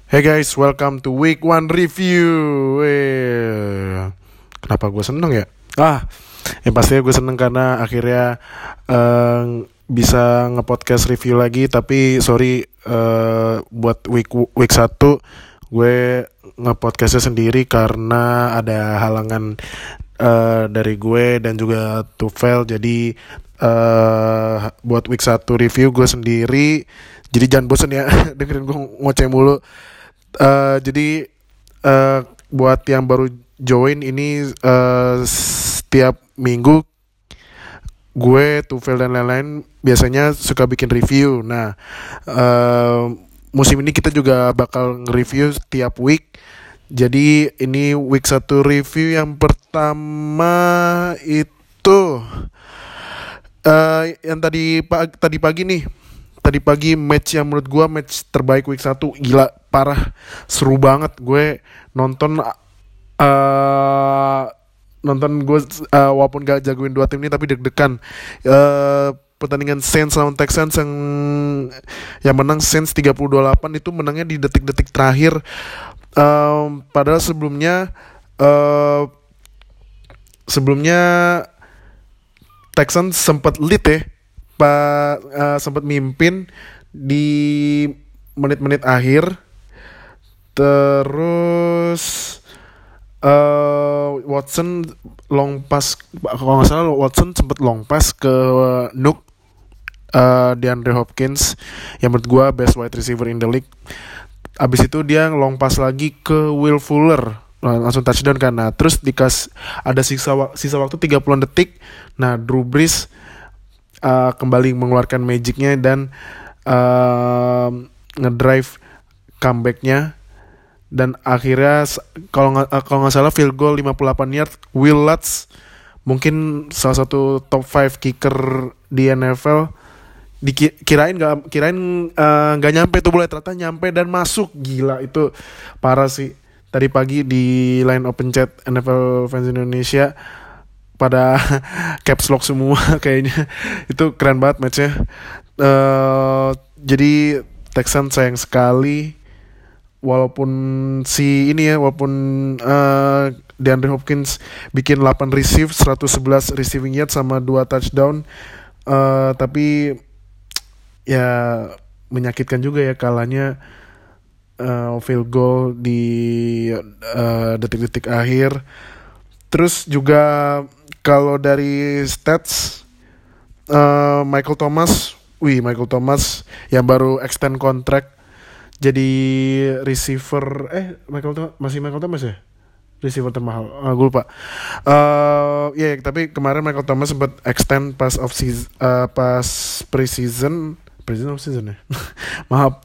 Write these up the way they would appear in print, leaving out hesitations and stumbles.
Hey guys, welcome to Week One Review. Kenapa gue seneng ya? Yang pastinya gue seneng karena akhirnya bisa nge-podcast review lagi. Tapi sorry, buat week 1 gue nge-podcastnya sendiri karena ada halangan dari gue dan juga Tufel. Jadi buat week 1 review gue sendiri. Jadi jangan bosen ya dengerin gue ngoceh mulu. Jadi buat yang baru join ini, setiap minggu gue, Tufel dan lain-lain biasanya suka bikin review. Nah, musim ini kita juga bakal nge-review setiap week. Jadi ini week 1 review yang pertama itu yang tadi pagi nih. Tadi pagi match yang menurut gue match terbaik week 1. Gila, parah, seru banget. Gue nonton gue, walaupun gak jagoin dua tim ini tapi deg-degan. Pertandingan Saints lawan Texans yang menang Saints 30-28 itu menangnya di detik-detik terakhir. Padahal sebelumnya Texans sempat lead ya, sempat mimpin di menit-menit akhir. Terus Watson long pass, kalau nggak salah Watson sempat long pass ke Nuk, DeAndre Hopkins yang menurut gue best wide receiver in the league. Abis itu dia long pass lagi ke Will Fuller, langsung touchdown kan. Nah, terus ada sisa waktu 30 detik. Nah, Drew Brees kembali mengeluarkan magicnya dan ngedrive comebacknya, dan akhirnya kalau nggak salah field goal 58 yard. Will Lutz, mungkin salah satu top 5 kicker di NFL, kirain nggak nyampe tuh bola, ternyata nyampe dan masuk. Gila, itu parah sih. Tadi pagi di line open chat NFL fans Indonesia pada caps lock semua kayaknya. Itu keren banget matchnya. Jadi Texans sayang sekali, walaupun DeAndre Hopkins bikin 8 receive, 111 receiving yard sama 2 touchdown. Tapi ya menyakitkan juga ya kalahnya field goal di detik-detik akhir. Terus juga kalau dari stats, Michael Thomas yang baru extend kontrak jadi receiver. Michael Thomas ya receiver termahal, gue lupa. Tapi kemarin Michael Thomas sempat extend pas preseason ya. Maaf.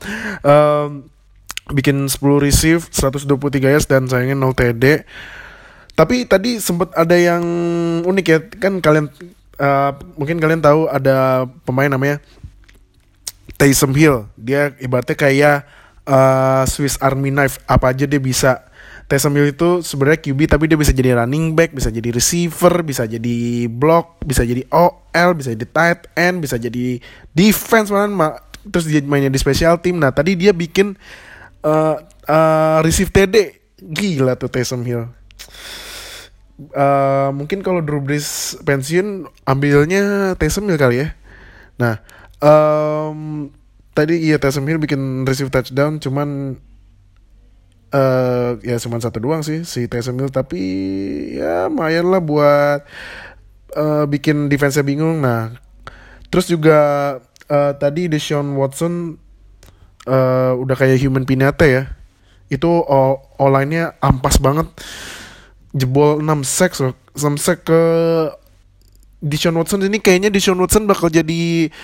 Bikin 10 receive, 123 yards dan sayangnya 0 TD. Tapi tadi sempat ada yang unik ya, kan mungkin kalian tahu ada pemain namanya Taysom Hill. Dia ibaratnya kayak Swiss Army knife, apa aja dia bisa. Taysom Hill itu sebenarnya QB tapi dia bisa jadi running back, bisa jadi receiver, bisa jadi block, bisa jadi OL, bisa jadi tight end, bisa jadi defense terus dia mainnya di special team. Nah, tadi dia bikin receive TD. Gila tuh Taysom Hill. Mungkin kalau Drew Brees pensiun, ambilnya Taysom Hill kali ya. Nah, tadi Taysom Hill bikin receive touchdown, cuman cuman satu doang sih si Taysom Hill, tapi ya lumayan lah buat bikin defense-nya bingung. Nah, terus juga tadi Deshaun Watson udah kayak human pinata ya. Itu O-line-nya ampas banget. Jebol 6 sack ke Deshaun Watson. Ini kayaknya Deshaun Watson bakal jadi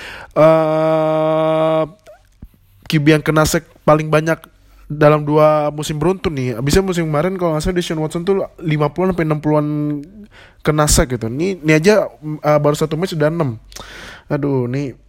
QB yang kena sack paling banyak dalam 2 musim beruntun nih. Abisnya musim kemarin kalau nggak salah Deshaun Watson tuh 50-an sampai 60-an kena sack gitu. Ini aja baru 1 match sudah 6. Aduh, nih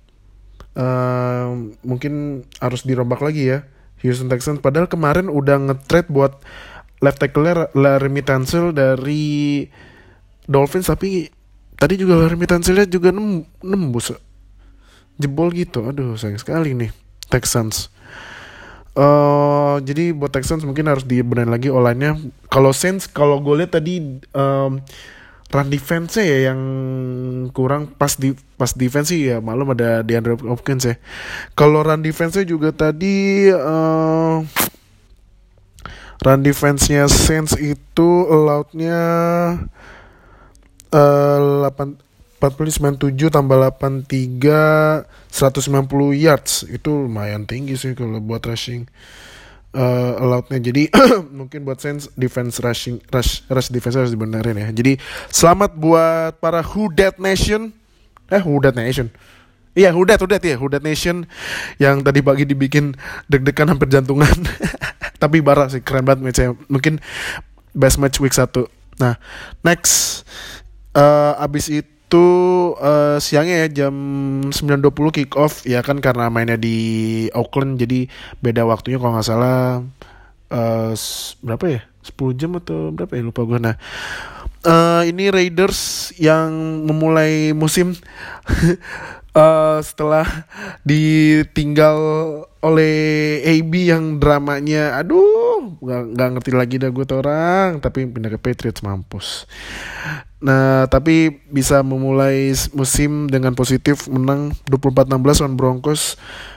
mungkin harus dirombak lagi ya Houston Texans. Padahal kemarin udah nge-trade buat left tackle Laremy Tunsil dari Dolphins, tapi tadi juga Laremy Tunsilnya juga nembus jebol gitu. Aduh, sayang sekali nih Texans. Jadi buat Texans mungkin harus dibenahin lagi online-nya. Kalau Saints, kalau gue lihat tadi run defense-nya ya yang kurang. Pas defense sih ya malum ada DeAndre Hopkins ya. Kalau run defense-nya juga tadi run defense-nya Saints itu allowed-nya 47 tambah 83 190 yards. Itu lumayan tinggi sih kalau buat rushing allowed-nya. Jadi mungkin buat Saints defense rush defense harus dibenerin ya. Jadi selamat buat para Who Dat Nation. Who Dat Nation. Iya, Who Dat Nation yang tadi pagi dibikin deg-degan hampir jantungan. Tapi parah sih, keren banget match-nya. Mungkin best match week 1. Nah, next abis itu siangnya ya jam 9.20 kick off ya kan, karena mainnya di Auckland jadi beda waktunya kalau nggak salah berapa ya, 10 jam atau berapa ya, lupa gue. Nah ini Raiders yang memulai musim setelah ditinggal oleh AB yang dramanya aduh nggak ngerti lagi dah gue tuh orang, tapi pindah ke Patriots mampus. Nah tapi bisa memulai musim dengan positif, menang 24-16 lawan Broncos.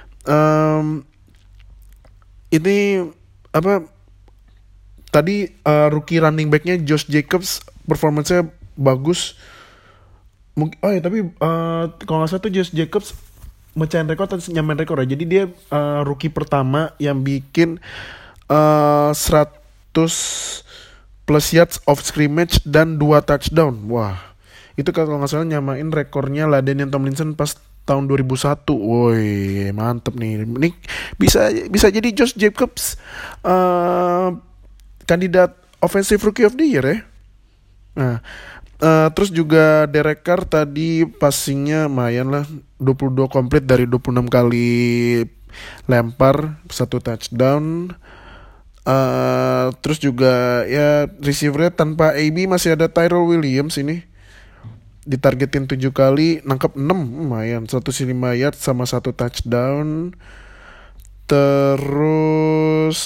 Ini apa tadi rookie running backnya Josh Jacobs performance-nya bagus. Tapi kalau nggak salah tuh Josh Jacobs mecahin rekor atau nyamain rekor ya. Jadi dia rookie pertama yang bikin 100 plus yards of scrimmage dan 2 touchdown. Wah, itu kalau nggak salah nyamain rekornya LaDainian Tomlinson pas tahun 2001. Woi, mantep nih. Ini bisa jadi Josh Jacobs kandidat offensive rookie of the year ya. Nah, terus juga Derek Carr tadi passingnya lumayan lah, 22 komplit dari 26 kali lempar, 1 touchdown. Terus juga ya receivernya tanpa AB masih ada Tyrell Williams ini. Ditargetin 7 kali, nangkep 6, lumayan, 105 yard sama 1 touchdown. Terus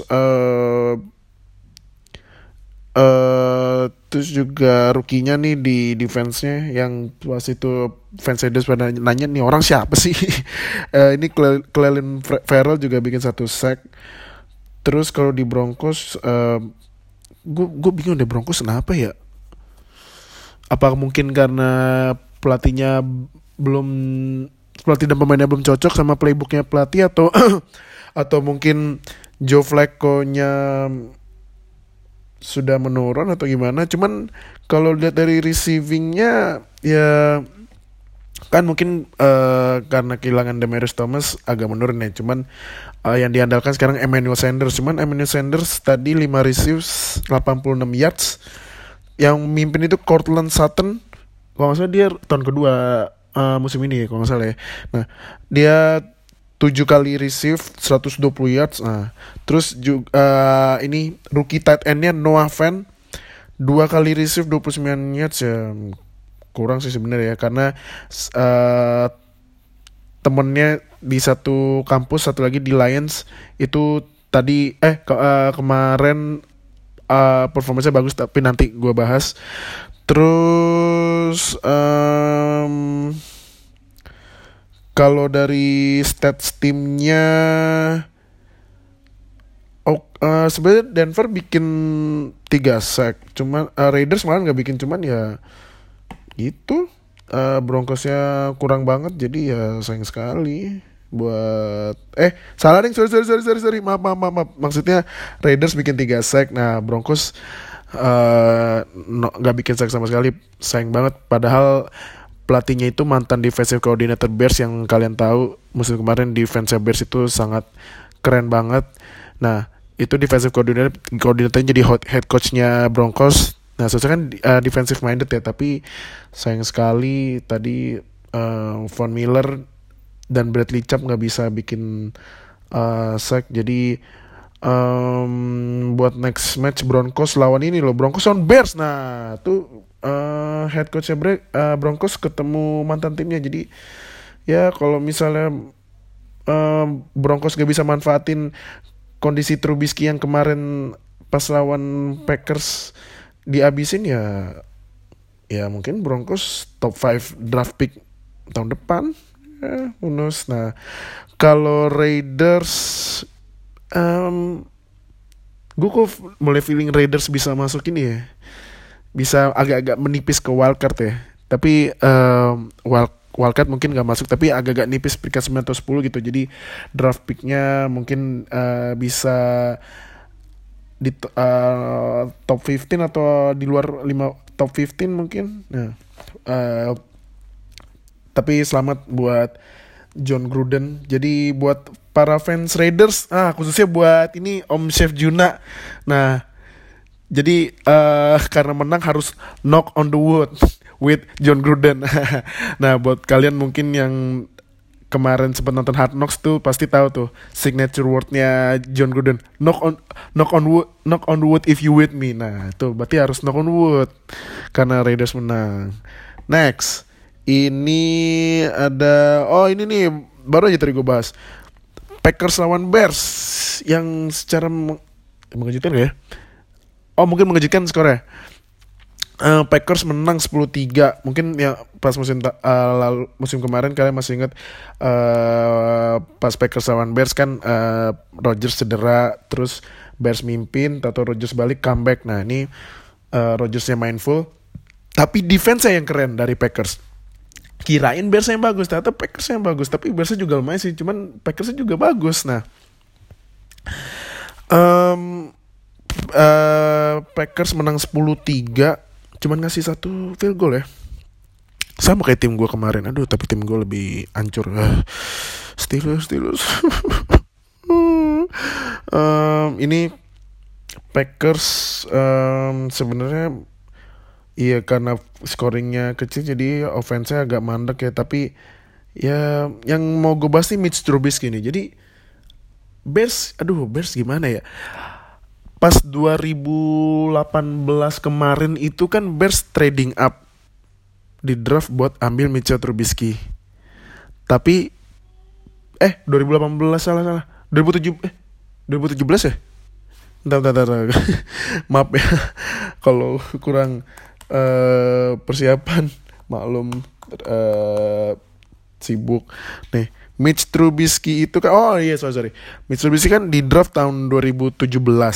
terus juga rukinya nih di defense-nya yang pas itu fans Raiders pada nanya nih orang siapa sih. Ini Clelin Ferrell juga bikin 1 sack. Terus kalau di Broncos gue bingung deh Broncos kenapa ya. Apa mungkin karena pelatih dan pemainnya belum cocok sama playbooknya pelatih, atau atau mungkin Joe Flacco-nya sudah menurun atau gimana. Cuman kalau lihat dari receivingnya ya kan mungkin karena kehilangan Demaryius Thomas agak menurun ya. Cuman yang diandalkan sekarang Emmanuel Sanders. Cuman Emmanuel Sanders tadi 5 receives 86 yards. Yang mimpin itu Courtland Sutton. Kalau nggak salah dia tahun kedua musim ini ya kalau nggak salah ya. Nah dia 7 kali receive 120 yards. Nah, terus juga ini rookie tight end-nya Noah Fant 2 kali receive 29 yards ya. Kurang sih sebenarnya ya, karena temennya di satu kampus, satu lagi di Lions itu tadi kemarin performanya bagus, tapi nanti gue bahas. Terus kalau dari stats timnya, sebenarnya Denver bikin 3 sack, cuman Raiders malah nggak bikin, cuman ya gitu. Broncosnya kurang banget, jadi ya sayang sekali buat salah ding, sorry maaf, maksudnya Raiders bikin 3 sack, nah Broncos nggak bikin sack sama sekali, sayang banget. Padahal pelatihnya itu mantan defensive coordinator Bears yang kalian tahu musim kemarin defensive Bears itu sangat keren banget. Nah itu defensive coordinatornya jadi head coachnya Broncos. Nah seharusnya kan defensive minded ya, tapi sayang sekali tadi Von Miller dan Bradley Chubb nggak bisa bikin sack. Jadi buat next match Broncos lawan ini loh, Broncos lawan Bears. Nah tuh head coachnya Broncos ketemu mantan timnya. Jadi ya kalau misalnya Broncos gak bisa manfaatin kondisi Trubisky yang kemarin pas lawan Packers dihabisin ya mungkin Broncos top 5 draft pick tahun depan. Who knows. Nah, kalau Raiders gue kok mulai feeling Raiders bisa masuk ini ya. Bisa agak-agak menipis ke wildcard ya. Tapi wildcard mungkin gak masuk, tapi agak-agak nipis peringkat 9 atau 10 gitu. Jadi draft picknya mungkin bisa di top 15 atau di luar 5 top 15 mungkin. Nah, tapi selamat buat John Gruden. Jadi buat para fans Raiders, khususnya buat ini Om Chef Juna. Nah, jadi karena menang harus knock on the wood with John Gruden. Nah, buat kalian mungkin yang kemarin sempat nonton Hard Knocks tuh pasti tahu tuh signature wordnya John Gruden, knock on wood if you with me. Nah, tuh berarti harus knock on wood karena Raiders menang. Next, ini ada ini nih baru aja tadi gue bahas Packers lawan Bears yang secara mengejutkan ya. Mungkin mengejutkan skornya. Packers menang 10-3. Mungkin ya pas musim kemarin kalian masih ingat pas Packers lawan Bears kan Rodgers cedera, terus Bears mimpin, tato Rodgers balik comeback. Nah, ini Rodgersnya main full, tapi defense-nya yang keren dari Packers. Kirain Bears yang bagus, ternyata Packers yang bagus. Tapi Bears juga lumayan sih, cuman Packers juga bagus. Nah, Packers menang 10-3, cuman ngasih 1 field goal ya. Sama kayak tim gue kemarin. Aduh, tapi tim gue lebih hancur. Steelers. Ini Packers sebenarnya iya karena scoringnya kecil jadi offense-nya agak mandek ya. Tapi ya yang mau gue bahas nih Mitch Trubisky nih. Jadi Bears gimana ya? Pas 2018 kemarin itu kan Bears trading up di draft buat ambil Mitchell Trubisky. Tapi 2018 salah. 2017 ya? Bentar. Maaf ya kalau kurang persiapan, maklum sibuk. Nih, Mitch Trubisky itu kan sorry. Mitch Trubisky kan di draft tahun 2017.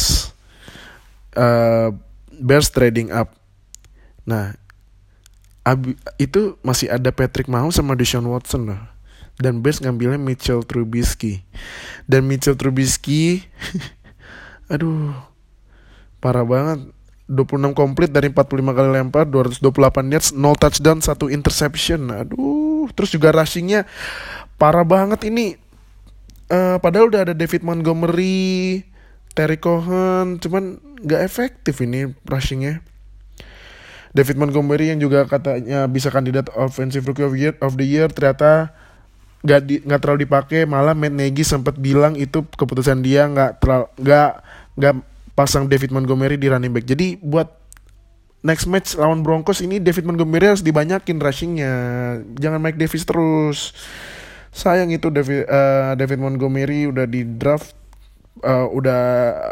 Bears trading up. Nah, itu masih ada Patrick Mahomes sama Deshaun Watson loh. Dan Bears ngambilnya Mitchell Trubisky. Dan Mitchell Trubisky aduh, parah banget. 26 komplit dari 45 kali lempar, 228 yards, 0 touchdown, 1 interception. Aduh, terus juga rushingnya parah banget ini. Padahal udah ada David Montgomery, Terry Cohen, cuman gak efektif ini rushingnya. David Montgomery yang juga katanya bisa kandidat Offensive Rookie of the Year ternyata gak terlalu dipakai. Malah Matt Nagy sempat bilang itu keputusan dia gak pasang David Montgomery di running back. Jadi buat next match lawan Broncos ini David Montgomery harus dibanyakin rushingnya. Jangan Mike Davis terus. Sayang itu David Montgomery udah di draft, udah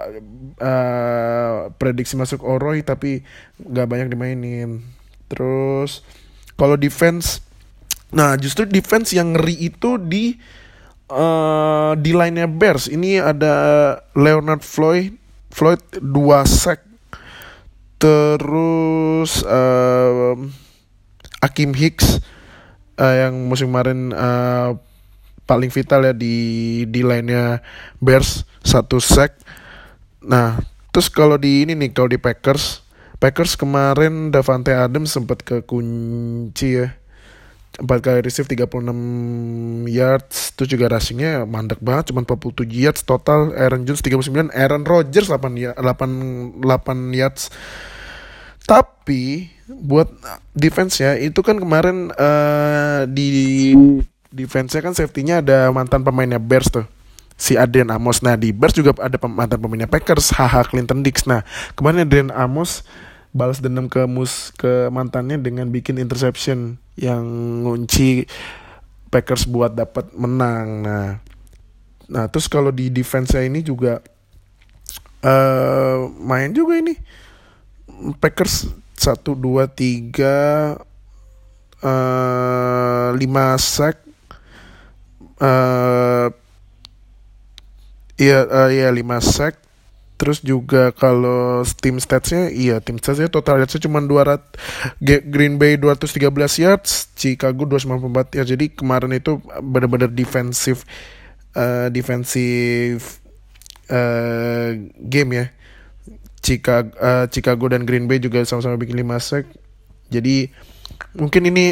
prediksi masuk Oroy tapi gak banyak dimainin. Terus kalau defense, nah justru defense yang ngeri itu di line-nya Bears. Ini ada Leonard Floyd 2 sack. Terus Akeem Hicks yang musim kemarin paling vital ya di line-nya Bears, 1 sack. Nah, terus kalau di Packers kemarin Davante Adams sempat kekunci ya. 4 kali receive 36 yards. Terus juga rushingnya mandek banget, cuma 47 yards total. Aaron Jones 39, Aaron Rodgers 8 yards. Tapi buat defense ya, itu kan kemarin di defense-nya kan safety-nya ada mantan pemainnya Bears tuh, si Adrian Amos. Nah, di Bears juga ada mantan pemainnya Packers, Clinton Dix. Nah, kemarin Adrian Amos balas dendam ke mantannya dengan bikin interception yang ngunci Packers buat dapat menang. Nah terus kalau di defense-nya ini juga Main juga ini Packers 1 2 3 5 sack. Iya 5 sack. Terus juga kalau tim statsnya total yardsnya cuma 200. Green Bay 213 yards, Chicago 294 yards. Jadi kemarin itu benar-benar defensive game ya. Chicago dan Green Bay juga sama-sama bikin 5 sack. Jadi mungkin ini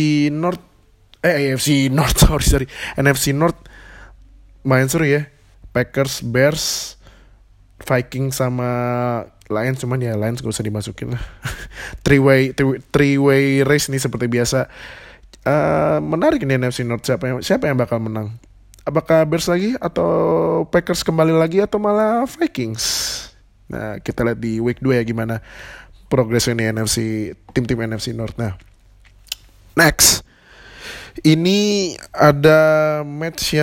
NFC North main seru ya. Packers, Bears, Vikings sama Lions, cuman ya Lions gak usah dimasukin lah. three way race nih seperti biasa. Menarik nih NFC North, siapa yang bakal menang? Apakah Bears lagi atau Packers kembali lagi atau malah Vikings? Nah, kita lihat di week 2 ya gimana progresnya nih tim-tim NFC North. Nah, next. Ini ada match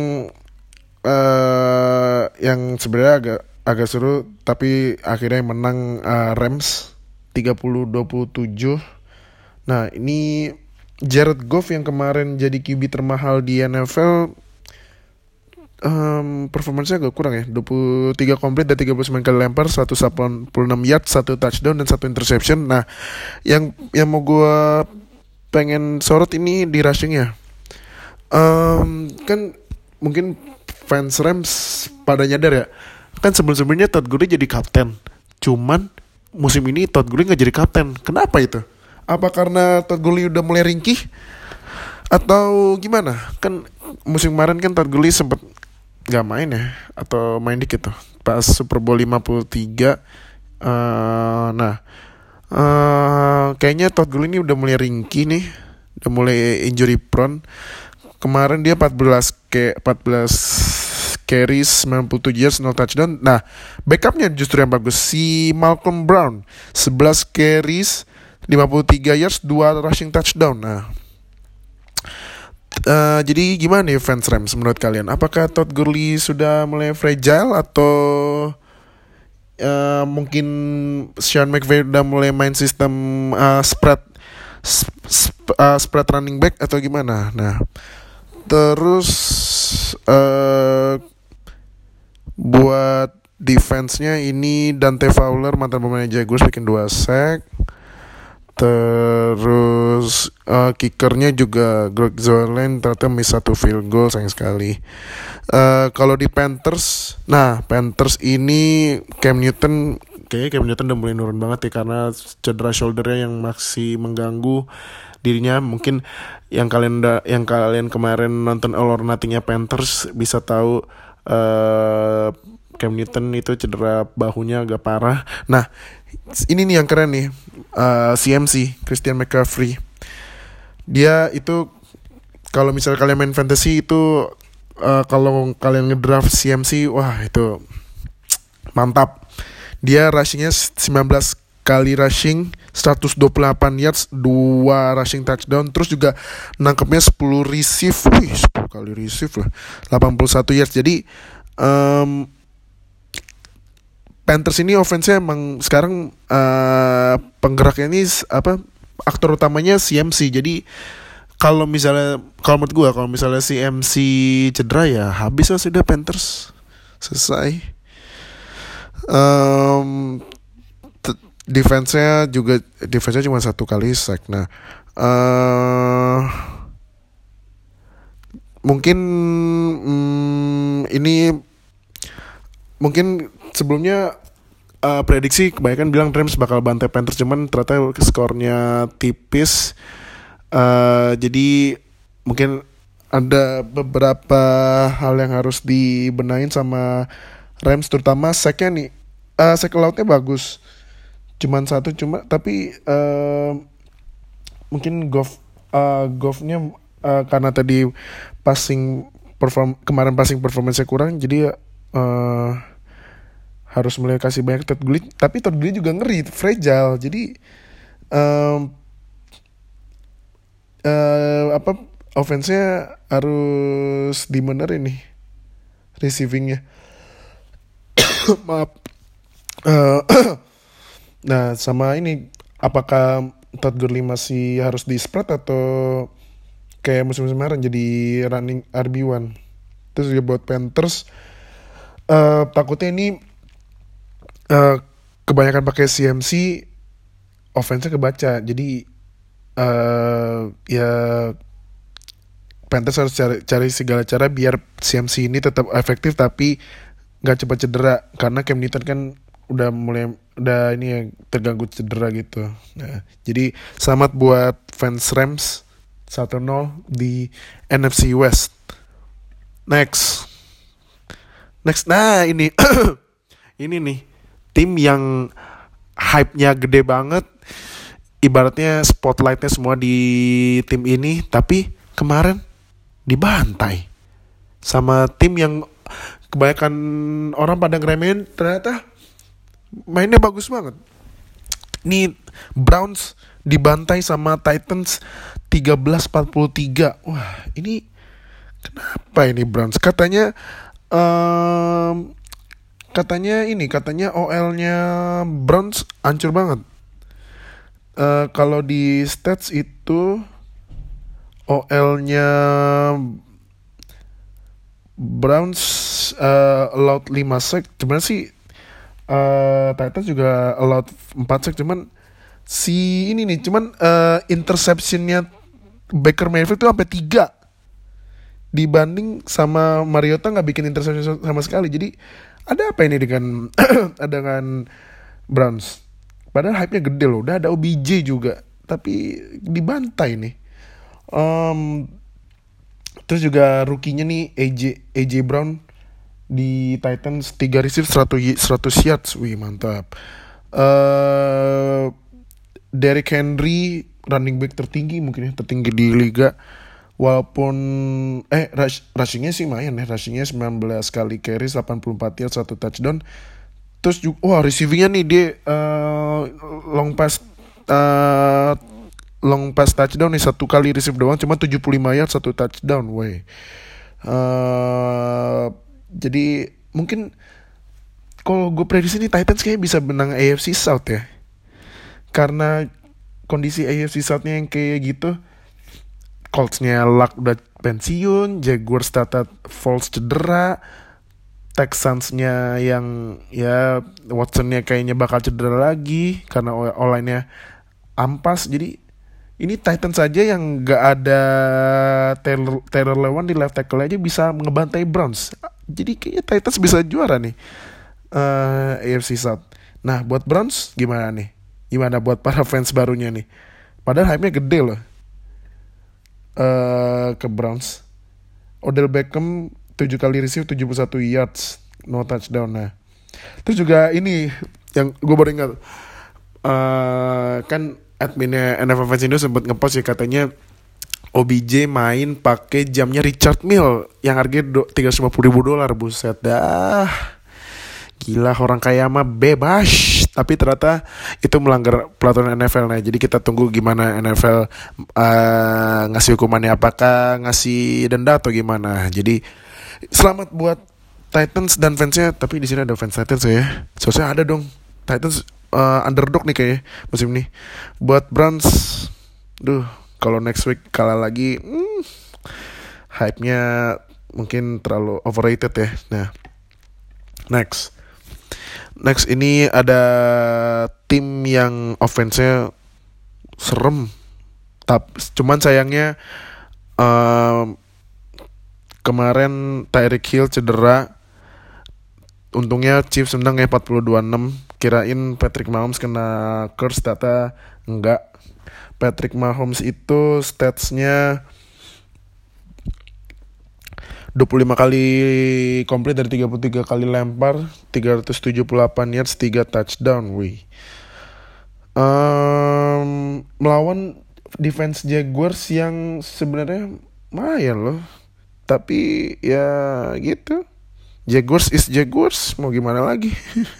yang sebenarnya agak seru, tapi akhirnya yang menang Rams 30-27. Nah, ini Jared Goff yang kemarin jadi QB termahal di NFL, performanya agak kurang ya. 23 komplit dan 39 kali lempar, 186 yards, 1 touchdown dan 1 interception. Nah, yang mau gue pengen sorot ini di rushingnya. Kan mungkin fans Rams pada nyadar ya, kan sebelumnya Todd Gurley jadi kapten, cuman musim ini Todd Gurley gak jadi kapten. Kenapa itu? Apa karena Todd Gurley udah mulai ringkih atau gimana? Kan musim kemarin kan Todd Gurley sempet gak main ya, atau main dikit tuh pas Super Bowl 53. Kayaknya Todd Gurley ini udah mulai ringkih nih, udah mulai injury prone. Kemarin dia 14 carries, 97 yards, 0 touchdown. Nah, backupnya justru yang bagus, si Malcolm Brown, 11 carries, 53 yards, 2 rushing touchdown. Nah, jadi gimana nih fans Rams menurut kalian? Apakah Todd Gurley sudah mulai fragile atau mungkin Sean McVay udah mulai main sistem spread running back atau gimana? Nah, terus buat defense-nya ini Dante Fowler, mantan pemain Jaguars, bikin 2 sack. Terus kickernya juga Greg Zuerlein ternyata miss 1 field goal, sayang sekali. Kalau di Panthers ini Cam Newton udah mulai nurun banget ya, karena cedera shouldernya yang masih mengganggu dirinya. Mungkin yang kalian kemarin nonton All or Nothing-nya Panthers bisa tahu Cam Newton itu cedera bahunya agak parah. Nah, ini nih yang keren nih, CMC, Christian McCaffrey. Dia itu kalau misalnya kalian main fantasy itu, kalau kalian ngedraft CMC, wah itu mantap. Dia rushingnya 19 kali rushing, 128 yards, 2 rushing touchdown. Terus juga nangkepnya 10 receive. 10 kali receive lah, 81 yards. Jadi Panthers ini offense-nya emang sekarang penggeraknya ini aktor utamanya CMC. Jadi kalau menurut gue, kalau misalnya CMC cedera ya habis lah sudah Panthers, selesai. Defense-nya cuma 1 kali sack. Nah, mungkin ini mungkin sebelumnya prediksi kebanyakan bilang Rams bakal bantai Panthers, cuman ternyata skornya tipis. Jadi mungkin ada beberapa hal yang harus dibenahin sama Rams, terutama sacknya nih. Sack lautnya bagus, cuman 1, tapi mungkin Goff-nya karena tadi kemarin passing performance-nya kurang, jadi harus mulai kasih banyak Todd Gurley. Tapi Todd Gurley juga ngeri, fragile. Jadi offense-nya harus dibenerin nih, receiving-nya. Maaf. Eh, nah, sama ini, apakah Todd Gurley masih harus di spread atau kayak musim kemarin jadi running RB1? Terus juga buat Panthers, takutnya ini eh, kebanyakan pakai CMC, offense-nya kebaca. Jadi ya Panthers harus cari segala cara biar CMC ini tetap efektif tapi nggak cepat cedera, karena Cam Newton kan udah ini ya, terganggu cedera gitu. Nah, jadi selamat buat fans Rams 1-0 di NFC West. Next. Nah ini ini nih tim yang hype-nya gede banget. Ibaratnya spotlight-nya semua di tim ini, tapi kemarin dibantai sama tim yang kebanyakan orang pada ngeremehin, ternyata mainnya bagus banget. Ini Browns dibantai sama Titans 13-43. Wah, ini kenapa ini Browns? Katanya OL-nya Browns hancur banget. Kalau di stats itu OL-nya Browns allowed 5 sack. Cuman sih Titans juga allowed 4 sack. Cuman si ini nih, interception-nya Baker Mayfield tuh sampai 3. Dibanding sama Mariota gak bikin interception sama sekali. Jadi ada apa ini dengan dengan Browns? Padahal hype-nya gede loh. Udah ada OBJ juga, tapi dibantai nih. Terus juga rookie-nya nih AJ Brown di Titans 3 receive 100 yards. Wih, mantap. Derrick Henry running back tertinggi mungkin ya, tertinggi di liga. Walaupun rushing-nya sih main ya. Rushing-nya 19 kali carries, 84 yards, 1 touchdown. Terus juga receiving-nya nih dia long pass touchdown nih, 1 kali receive doang cuma 75 yards, 1 touchdown. Woi. Jadi mungkin kalau gue prediksi nih Titans kayaknya bisa menang AFC South ya. Karena kondisi AFC South-nya yang kayak gitu. Colts-nya Luck udah pensiun, Jaguars Foles cedera, Texans-nya yang ya Watson-nya kayaknya bakal cedera lagi karena online-nya ampas. Jadi ini Titans saja yang gak ada Taylor Lewan di left tackle aja bisa ngebantai Browns. Jadi kayaknya Titans bisa juara nih AFC South. Nah, buat Browns gimana nih? Gimana buat para fans barunya nih? Padahal hype-nya gede loh ke Browns. Odell Beckham 7 kali receive, 71 yards, no touchdown. Nah, terus juga ini yang gue baru ingat, kan adminnya NFL Fans Indo sempat ngepost ya, katanya OBJ main pakai jamnya Richard Mille yang harganya $350,000. Buset dah, gila, orang kaya mah bebas. Tapi ternyata itu melanggar peraturan NFL. Nah, jadi kita tunggu gimana NFL ngasih hukumannya, apakah ngasih denda atau gimana. Jadi selamat buat Titans dan fansnya. Tapi di sini ada fans Titans ya. Seharusnya ada dong. Titans underdog nih kayaknya musim ini. Buat Browns, kalau next week kalah lagi, hype-nya mungkin terlalu overrated ya. Nah, next ini ada tim yang offense-nya serem. Cuman sayangnya kemarin Tyreek Hill cedera. Untungnya Chiefs menang ya 42-6. Kirain Patrick Mahomes kena curse, ternyata enggak. Patrick Mahomes itu statsnya 25 kali complete dari 33 kali lempar, 378 yards, 3 touchdown. Wih. Melawan defense Jaguars yang sebenarnya lumayan loh. Tapi ya gitu. Jaguars is Jaguars, mau gimana lagi.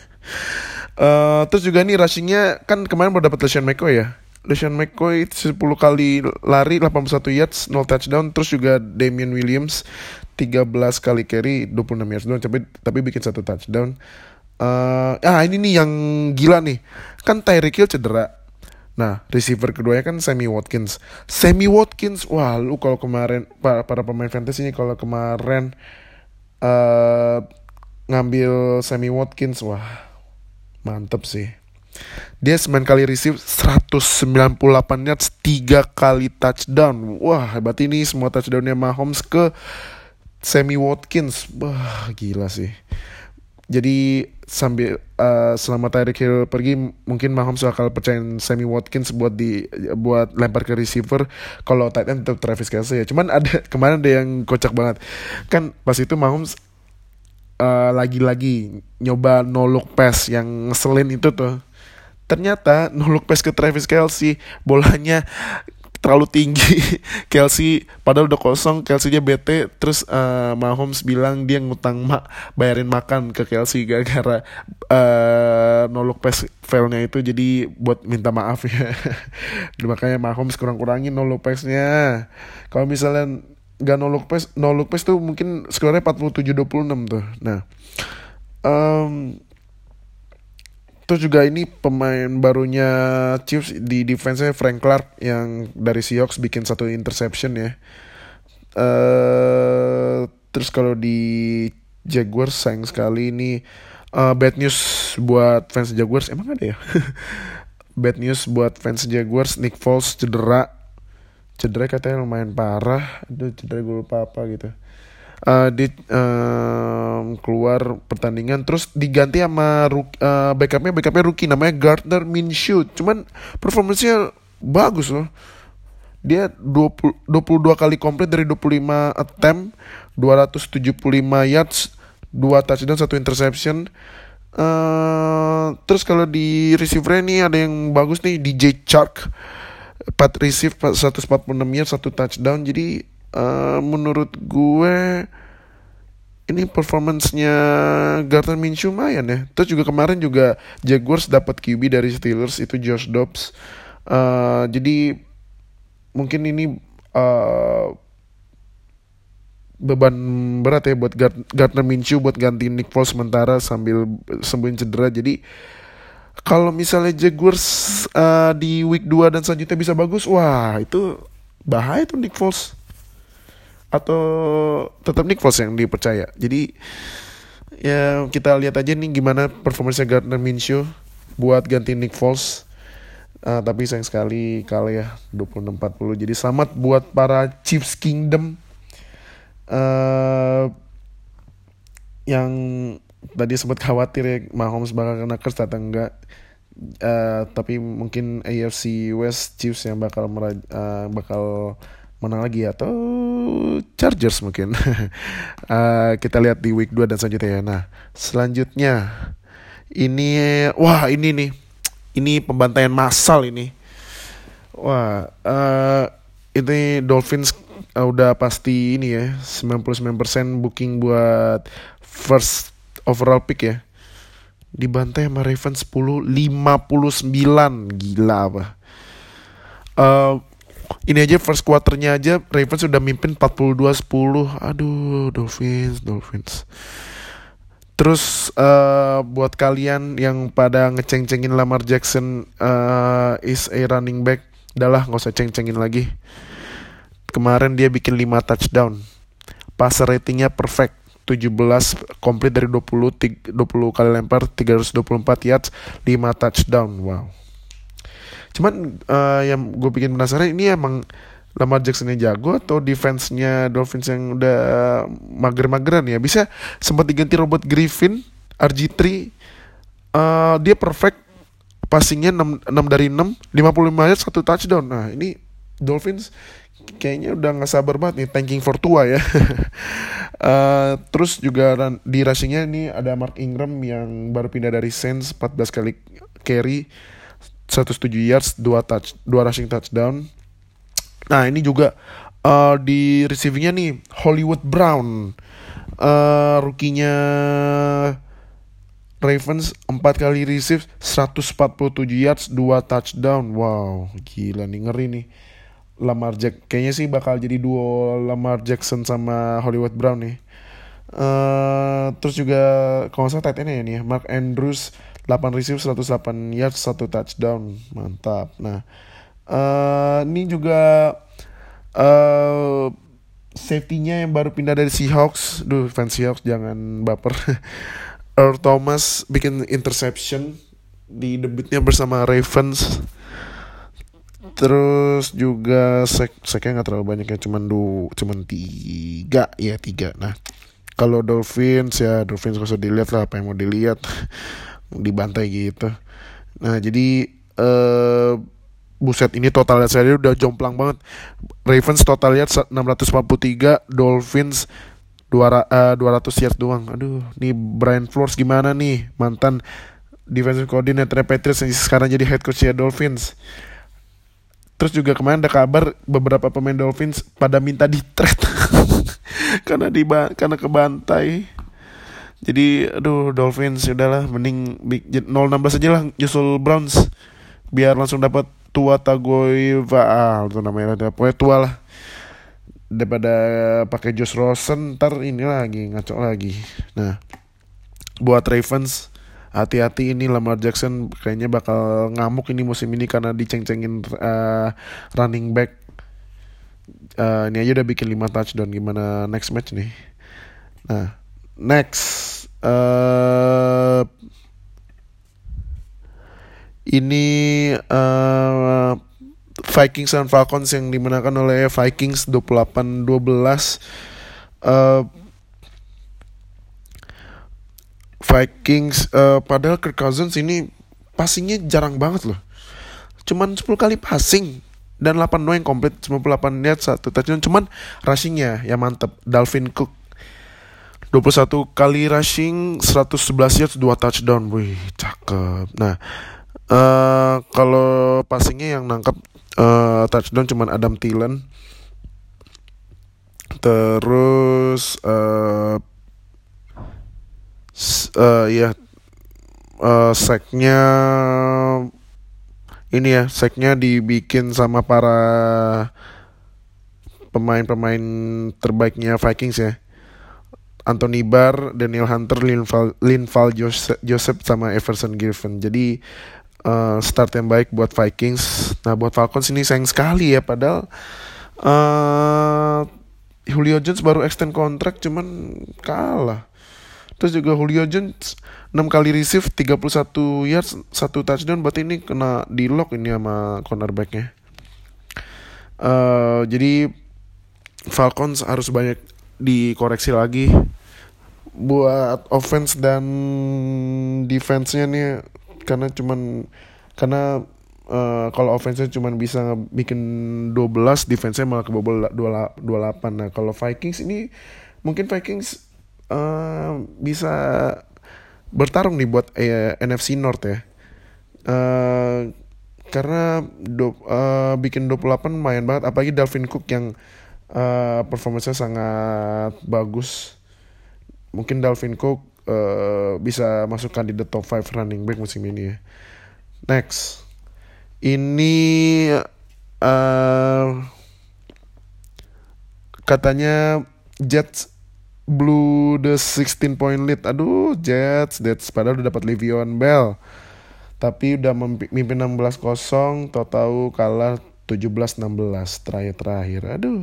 Terus juga nih rushingnya kan kemarin baru dapat LeSean McCoy ya. LeSean McCoy 10 kali lari, 81 yards, 0 touchdown. Terus juga Damian Williams 13 kali carry, 26 yards doang, tapi bikin 1 touchdown. Ini nih yang gila nih. Kan Tyreek Hill cedera. Nah, receiver keduanya kan Sammy Watkins. Sammy Watkins, wah lu kalau kemarin para pemain fantasy ini kalau kemarin eh ngambil Sammy Watkins, wah mantep sih. Dia 9 kali receive 198 yards, 3 kali touchdown. Wah, berarti ini semua touchdownnya Mahomes ke Sammy Watkins. Wah, gila sih. Jadi selama Tyreek Hill pergi, mungkin Mahomes bakal percayain Sammy Watkins buat lempar ke receiver. Kalau tight end tetap Travis Kelce ya. Cuman kemarin ada yang kocak banget. Kan pas itu Mahomes lagi-lagi nyoba no look pass yang ngeselin itu tuh. Ternyata no look pass ke Travis Kelce, bolanya terlalu tinggi. Kelce padahal udah kosong, Kelce-nya bete. Terus Mahomes bilang dia bayarin makan ke Kelce gara-gara no look pass failnya itu. Jadi buat minta maaf ya. Makanya Mahomes kurang-kurangin no look pass-nya. Kalau misalnya gak no look pass tuh mungkin skornya 47-26 tuh. Nah, terus juga ini pemain barunya Chiefs di defense-nya Frank Clark yang dari Seahawks bikin 1 interception ya. Terus kalau di Jaguars sayang sekali ini bad news buat fans Jaguars. Emang ada ya? Bad news buat fans Jaguars, Nick Foles cedera katanya lumayan parah. Aduh, cedera gue lupa apa gitu. Dia keluar pertandingan, terus diganti sama backupnya rookie namanya Gardner Minshew. Cuman performanya bagus loh. Dia 22 kali komplit dari 25 attempt, 275 yards, 2 touchdown, 1 interception. Terus kalau di receiver ini ada yang bagus nih, DJ Chark, 4 receive 146 yards, 1 touchdown. Jadi menurut gue ini performance-nya Gardner Minshew lumayan ya. Terus juga kemarin juga Jaguars dapat QB dari Steelers, itu Josh Dobbs. Jadi mungkin ini beban berat ya buat Gardner Minshew buat gantiin Nick Foles sementara sambil sembuhin cedera. Jadi kalau misalnya Jaguars di week 2 dan selanjutnya bisa bagus, wah itu bahaya tuh Nick Foles. Atau tetap Nick Foles yang dipercaya. Jadi ya kita lihat aja nih gimana performanya Gardner Minshew buat ganti Nick Foles. Tapi sayang sekali kalah ya 26-40. Jadi selamat buat para Chiefs Kingdom yang tadi sempat khawatir ya Mahomes bakal kena curse atau enggak. Tapi mungkin AFC West Chiefs yang bakal menang lagi atau Chargers mungkin. Kita lihat di week 2 dan selanjutnya ya. Nah, selanjutnya ini nih. Ini pembantaian massal ini. Wah, ini Dolphins udah pasti ini ya, 99% booking buat first overall pick ya. Dibantai sama Ravens 10-59. Gila apa. Ini aja first quarternya aja Ravens sudah mimpin 42-10. Aduh, Dolphins. Terus buat kalian yang pada ngeceng-cengin Lamar Jackson is a running back, udahlah gak usah ceng-cengin lagi. Kemarin dia bikin 5 touchdown. Passer ratingnya perfect, 17 komplit dari 20 kali lempar, 324 yards, 5 touchdown. Wow. Cuman yang gue bikin penasaran, ini emang Lamar Jackson-nya jago atau defense-nya Dolphins yang udah mager-mageran ya. Bisa sempat diganti Robert Griffin, RG3. Dia perfect, passingnya 6 dari 6, 55 yards, 1 touchdown. Nah ini Dolphins kayaknya udah gak sabar banget nih, tanking for Tua ya. Terus juga di rushing-nya ini ada Mark Ingram yang baru pindah dari Saints, 14 kali carry, 107 yards, 2 rushing touchdown. Nah ini juga di receivingnya nih Hollywood Brown, rookie-nya Ravens, 4 kali receive, 147 yards, 2 touchdown. Wow, gila nih, ngeri nih. Kayaknya sih bakal jadi duo Lamar Jackson sama Hollywood Brown nih. Terus juga kalau nggak salah tight end ya nih ya, Mark Andrews 8 receive 108 yards 1 touchdown, mantap. Nah, ini juga eh safety-nya yang baru pindah dari Seahawks. Duh, fans Seahawks jangan baper. Earl Thomas bikin interception di debutnya bersama Ravens. Terus juga seknya nggak terlalu banyak ya, cuman tiga. Nah, kalau Dolphins gak usah dilihat lah, apa yang mau dilihat. Dibantai gitu. Nah, jadi buset, ini total yards saya udah jomplang banget. Ravens total yards 643, Dolphins 200 yards doang. Aduh, nih Brian Flores gimana nih, mantan defensive coordinator Patriots yang sekarang jadi head coach ya Dolphins. Terus juga kemarin ada kabar beberapa pemain Dolphins pada minta di trade karena kebantai. Jadi aduh, Dolphins udahlah, mending 0-16 aja lah nyusul Browns biar langsung dapat Tua Tagovailoa, itu namanya, pokoknya tua lah, daripada pakai Josh Rosen ntar ini lagi ngaco lagi. Nah, buat Ravens, hati-hati, ini Lamar Jackson kayaknya bakal ngamuk ini musim ini karena diceng-cengin running back. Ini aja udah bikin 5 touchdown, gimana next match nih? Nah, next ini Vikings dan Falcons yang dimenangkan oleh Vikings 28-12. Vikings padahal Kirk Cousins ini passingnya jarang banget loh. Cuman 10 kali passing dan 8 yang komplit, 98 yards 1 touchdown. Cuman rushingnya ya mantep. Dalvin Cook 21 kali rushing, 111 yards, 2 touchdown. Wih, cakep. Nah, kalau passingnya yang nangkap touchdown cuman Adam Thielen. Terus sacknya ini ya, sacknya dibikin sama para pemain-pemain terbaiknya Vikings ya. Anthony Barr, Daniel Hunter, Linval Joseph sama Everson Griffin. Jadi start yang baik buat Vikings. Nah, buat Falcons ini sayang sekali ya, padahal Julio Jones baru extend kontrak cuman kalah. Terus juga Julio Jones 6 kali receive 31 yards 1 touchdown, berarti ini kena di lock ini sama cornerbacknya. Jadi Falcons harus banyak dikoreksi lagi buat offense dan defense-nya nih, karena kalau offense-nya cuman bisa bikin 12, defense-nya malah kebobol 28. Nah, kalau Vikings ini mungkin Vikings bisa bertarung nih buat NFC North ya. Karena bikin 28 lumayan banget, apalagi Dalvin Cook yang performanya sangat bagus. Mungkin Dalvin Cook bisa masuk kandidat top 5 running back musim ini ya. Next, ini katanya Jets blew the 16 point lead. Aduh, Jets padahal udah dapat Le'Veon Bell, tapi udah mimpin 16-0, tahu kalah 17-16 terakhir. Aduh.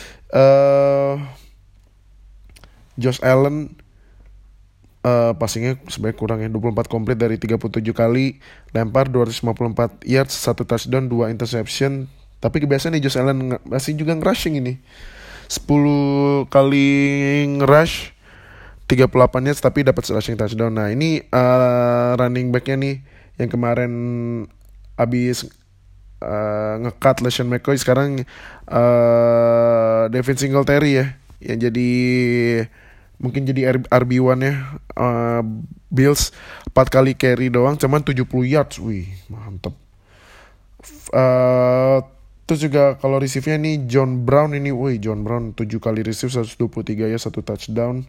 Josh Allen passingnya sebenarnya kurang ya, 24 komplit dari 37 kali lempar, 254 yards, 1 touchdown, 2 interception. Tapi kebiasaan nih Josh Allen masih juga nge-rushing ini. 10 kali nge-rush, 38 yards tapi dapat rushing touchdown. Nah, ini running back-nya nih yang kemarin abis nge-cut LeSean McCoy, sekarang Devin Singletary ya, yang jadi mungkin jadi RB1 ya Bills. 4 kali carry doang cuman 70 yards. Wih, mantep. Terus juga kalau receive-nya nih John Brown 7 kali receive, 123 ya, 1 touchdown.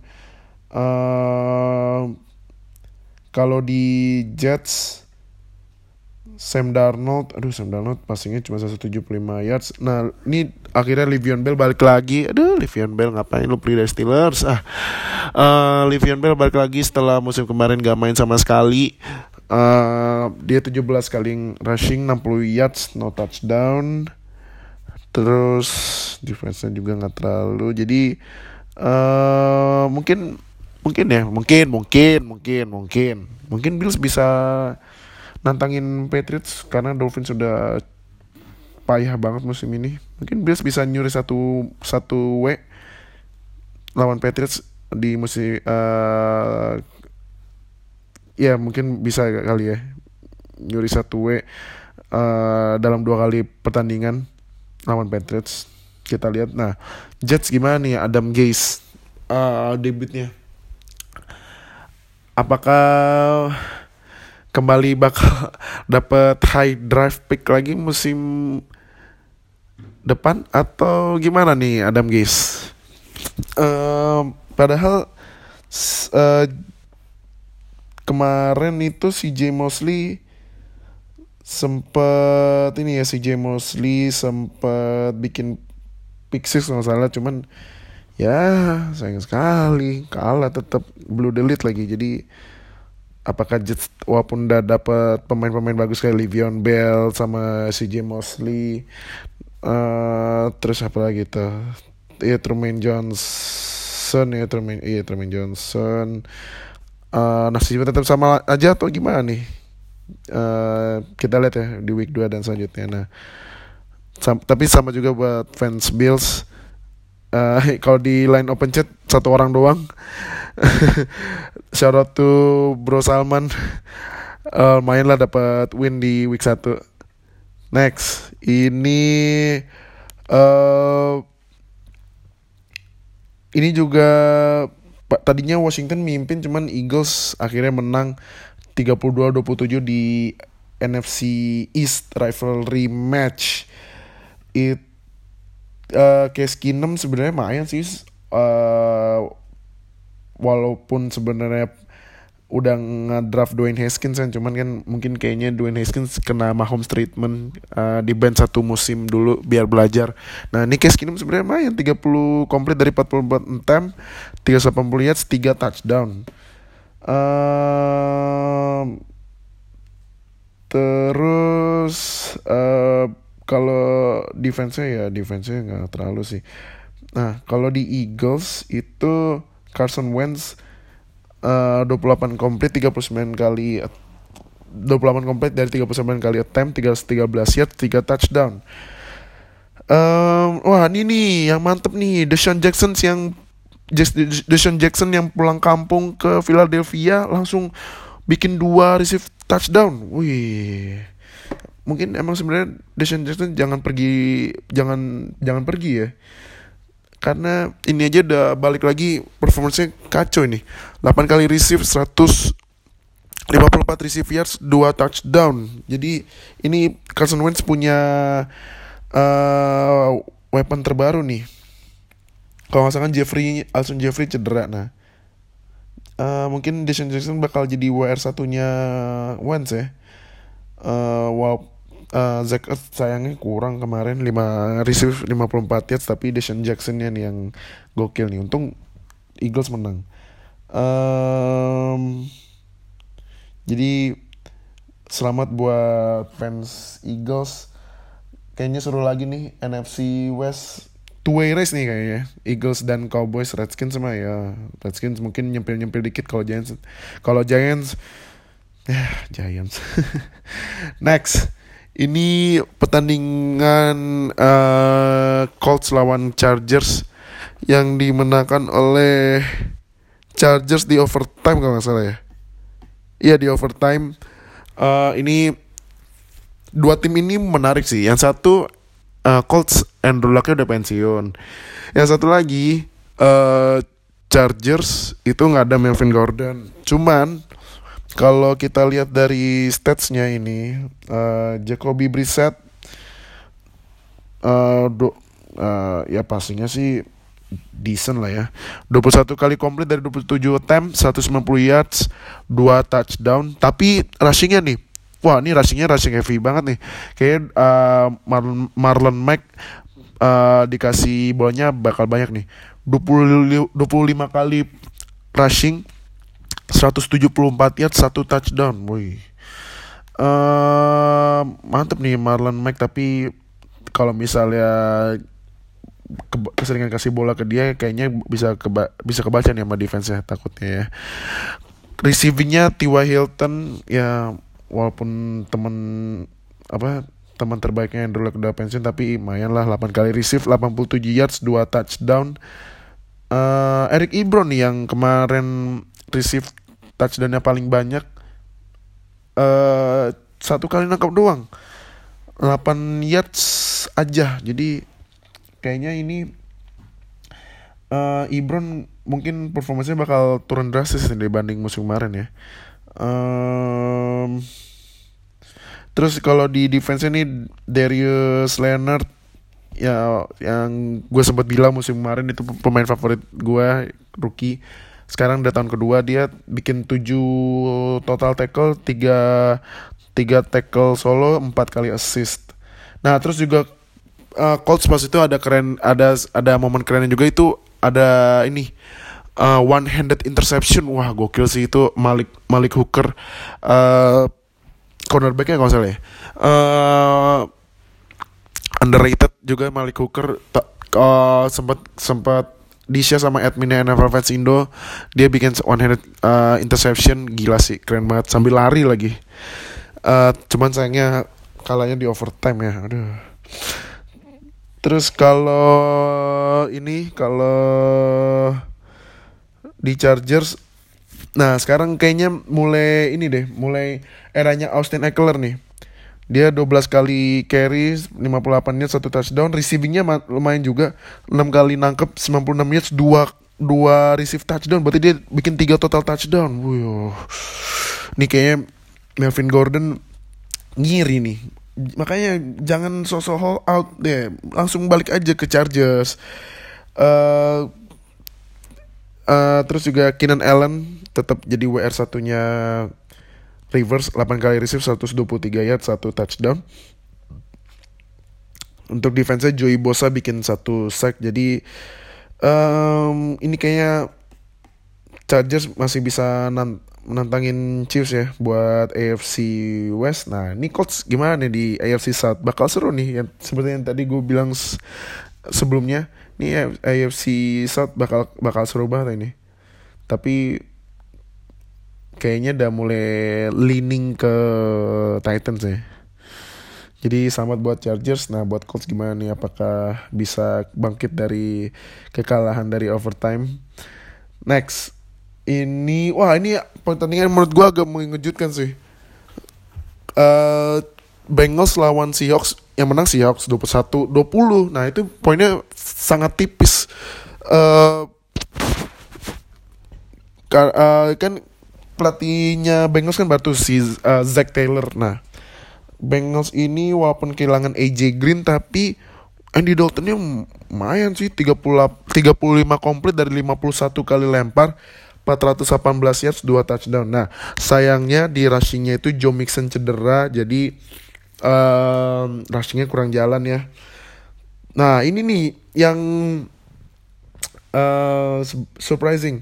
Kalau di Jets Sam Darnold passingnya cuma 175 yards. Nah, ini akhirnya Le'Veon Bell balik lagi. Le'Veon Bell ngapain lu beli dari Steelers? Le'Veon Bell balik lagi setelah musim kemarin gak main sama sekali. Dia 17 kali rushing, 60 yards, no touchdown. Terus defense-nya juga gak terlalu. Jadi mungkin Bills bisa nantangin Patriots karena Dolphins sudah payah banget musim ini. Mungkin Bills bisa nyuri satu W lawan Patriots di musim ya mungkin bisa kali ya nyuri 1 W dalam 2 kali pertandingan lawan Patriots. Kita lihat. Nah, Jets gimana nih Adam Gase debutnya? Apakah kembali bakal dapat high draft pick lagi musim depan atau gimana nih Adam Gase? Padahal kemarin itu CJ Mosley sempat bikin pick six nggak salah, cuman ya sayang sekali kalah, tetap blue delete lagi. Jadi apakah Jets walaupun udah dapat pemain-pemain bagus kayak Le'Veon Bell sama CJ Mosley, terus apa lagi tuh? Trumaine Johnson. Nasibnya tetap sama aja atau gimana nih? Kita lihat ya di week 2 dan selanjutnya. Nah, tapi sama juga buat fans Bills. Kalau di line open chat 1 orang doang. Shout out to Bro Salman. Main lah dapat win di week 1. Next, ini juga tadinya Washington mimpin, cuman Eagles akhirnya menang 32-27 di NFC East rivalry match. Case Keenum sebenarnya main sih, walaupun sebenarnya udah ngedraft Dwayne Haskins kan, cuman kan mungkin kayaknya Dwayne Haskins kena Mahomes treatment, di bench 1 musim dulu biar belajar. Nah, ini Case Keenum sebenarnya main 30 komplit dari 44 attempt, 380 yards, 3 touchdown. Terus kalau defense-nya nggak terlalu sih. Nah, kalau di Eagles itu Carson Wentz 28 komplit 39 kali 28 komplit dari 39 kali attempt, 13 yards, 3 touchdown. Wah, ini nih yang mantep nih, Deshaun Jackson yang pulang kampung ke Philadelphia langsung bikin 2 receive touchdown. Wih. Mungkin emang sebenarnya Deshaun Jackson jangan pergi ya. Karena ini aja udah balik lagi, performance-nya kacau ini. 8 kali receive, 154 receive yards, 2 touchdown. Jadi ini Carson Wentz punya weapon terbaru nih. Kalau nggak salah Alshon Jeffrey cedera. Nah, mungkin Deshaun Jackson bakal jadi WR1-nya Wentz ya. Zach Ertz sayangnya kurang kemarin, 5 receive 54 yards, tapi Deshaun Jackson-nya nih yang gokil nih. Untung Eagles menang. Jadi selamat buat fans Eagles. Kayaknya seru lagi nih NFC West, two-way race nih kayaknya. Eagles dan Cowboys, Redskins sama ya. Redskins mungkin nyempil dikit kalau Giants. Giants. Next. Ini pertandingan Colts lawan Chargers yang dimenangkan oleh Chargers di overtime kalau nggak salah ya. Iya, di overtime. Ini 2 tim ini menarik sih. Yang satu Colts, Andrew Luck-nya udah pensiun. Yang satu lagi Chargers itu nggak ada Melvin Gordon. Cuman kalau kita lihat dari statsnya ini, Jacoby Brissett ya passingnya sih decent lah ya. 21 kali komplit dari 27 attempt, 190 yards, 2 touchdown. Tapi rushingnya nih wah ini rushing heavy banget nih. Kayak Marlon Mack dikasih bolanya bakal banyak nih. 25 kali rushing, 174 yards, 1 touchdown. Wih. Mantep nih Marlon Mack, tapi kalau misalnya keseringan kasih bola ke dia kayaknya bisa kebaca nih sama defense-nya takutnya ya. Receivingnya T.Y. Hilton ya, walaupun teman terbaiknya Andrew Luck udah pensiun, tapi lumayan lah, 8 kali receive, 87 yards, 2 touchdown. Eric Ebron nih yang kemarin receive touchdownnya paling banyak, 1 kali nangkap doang, 8 yards aja. Jadi kayaknya ini Ebron mungkin performanya bakal turun drastis dibanding musim kemarin ya. Terus kalau di defense ini Darius Leonard ya, yang gue sempat bilang musim kemarin itu pemain favorit gue, rookie. Sekarang udah tahun kedua, dia bikin 7 total tackle, 3 tackle solo, 4 kali assist. Nah terus juga Colts pas itu ada momen kerennya juga, itu ada ini one-handed interception. Wah gokil sih itu, Malik Hooker, cornerbacknya kalau salah ya. Underrated juga Malik Hooker, sempat di-share sama adminnya NFL Fans Indo. Dia bikin one-handed interception, gila sih, keren banget, sambil lari lagi. Cuman sayangnya kalahnya di overtime ya, aduh. Terus kalau di Chargers, nah sekarang kayaknya mulai eranya Austin Ekeler nih. Dia 12 kali carry, 58 yards, 1 touchdown. Receivingnya lumayan juga, 6 kali nangkep, 96 yards, 2 receive touchdown. Berarti dia bikin 3 total touchdown. Wuh. Nih kayaknya Melvin Gordon ngiri nih. Makanya jangan sosok hold out deh, langsung balik aja ke Chargers. Terus juga Keenan Allen tetap jadi WR satunya Rivers, 8 kali receive, 123 yards, 1 touchdown. Untuk defense-nya Joey Bosa bikin 1 sack. Jadi ini kayaknya Chargers masih bisa menantangin Chiefs ya buat AFC West. Nah ini Colts gimana nih di AFC South? Bakal seru nih ya, seperti yang tadi gue bilang sebelumnya. Nih AFC South bakal seru banget ini. Tapi kayaknya udah mulai leaning ke Titans ya. Jadi selamat buat Chargers. Nah buat Colts gimana nih? Apakah bisa bangkit dari kekalahan dari overtime? Next, ini pertandingan menurut gue agak mengejutkan sih. Bengals lawan Seahawks, yang menang Seahawks 21-20. Nah itu poinnya sangat tipis. Kan pelatihnya Bengals kan baru si Zach Taylor. Nah Bengals ini walaupun kehilangan AJ Green, tapi Andy Daltonnya lumayan sih, 35 komplit dari 51 kali lempar, 418 yards, 2 touchdown. Nah sayangnya di rushingnya itu Joe Mixon cedera, jadi rushingnya kurang jalan ya. Nah ini nih yang surprising.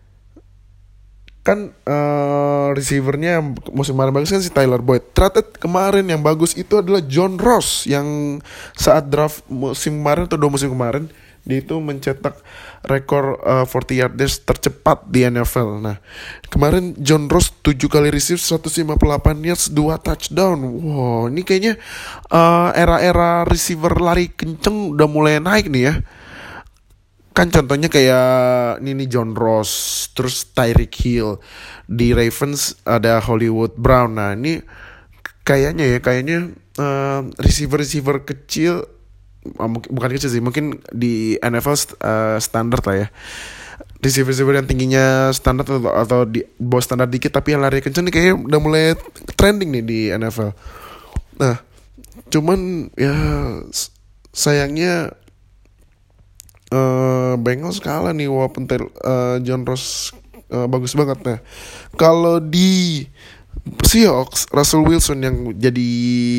Kan receivernya musim kemarin bagus kan si Tyler Boyd. Ternyata kemarin yang bagus itu adalah John Ross, yang saat draft musim kemarin atau 2 musim kemarin dia itu mencetak rekor 40 yard dash tercepat di NFL. Nah kemarin John Ross 7 kali receive, 158 yards, 2 touchdown. Wow, ini kayaknya era-era receiver lari kenceng udah mulai naik nih ya. Kan contohnya kayak ini John Ross, terus Tyreek Hill. Di Ravens ada Hollywood Brown. Nah ini kayaknya receiver kecil, bukan kecil sih, mungkin di NFL standar lah ya. Receiver yang tingginya standar atau di bawah standar dikit tapi yang lari kenceng nih kayaknya udah mulai trending nih di NFL. Nah cuman ya sayangnya Bengals kalah nih, walaupun John Ross bagus banget. Nah kalau di Seahawks, Russell Wilson yang jadi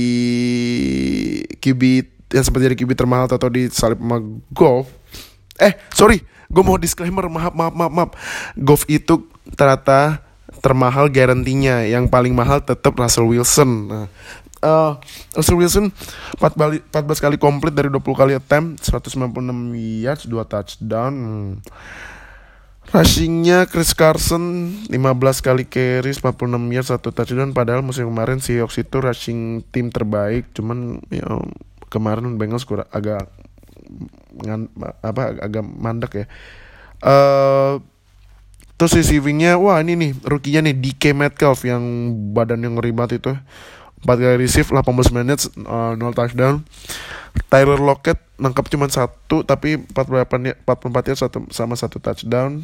QB, yang sempat jadi QB termahal atau disalip sama Goff. Sorry, gue mau disclaimer, maaf. Goff itu ternyata termahal garantinya. Yang paling mahal tetap Russell Wilson. Nah, Russell Wilson 14 kali komplit dari 20 kali attempt, 196 yards, 2 touchdown. Rushingnya Chris Carson 15 kali carry, 46 yards, 1 touchdown. Padahal musim kemarin Seahawks itu rushing tim terbaik. Cuman ya, kemarin Bengals agak mandek ya. Terus receivingnya, wah ini nih rookie-nya nih DK Metcalf yang badan yang ngeri banget itu. 4 kali receive, 18 minutes, 0 touchdown. Tyler Lockett nangkap cuma 1 tapi 44 yards sama 1 touchdown.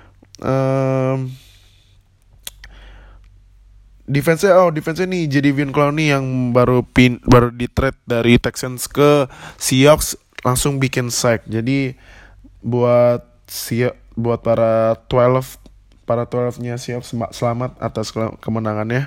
Defense-nya nih Jadeveon Clowney yang baru di trade dari Texans ke Seahawks langsung bikin sack. Jadi buat para 12-nya Seahawks selamat atas kemenangannya.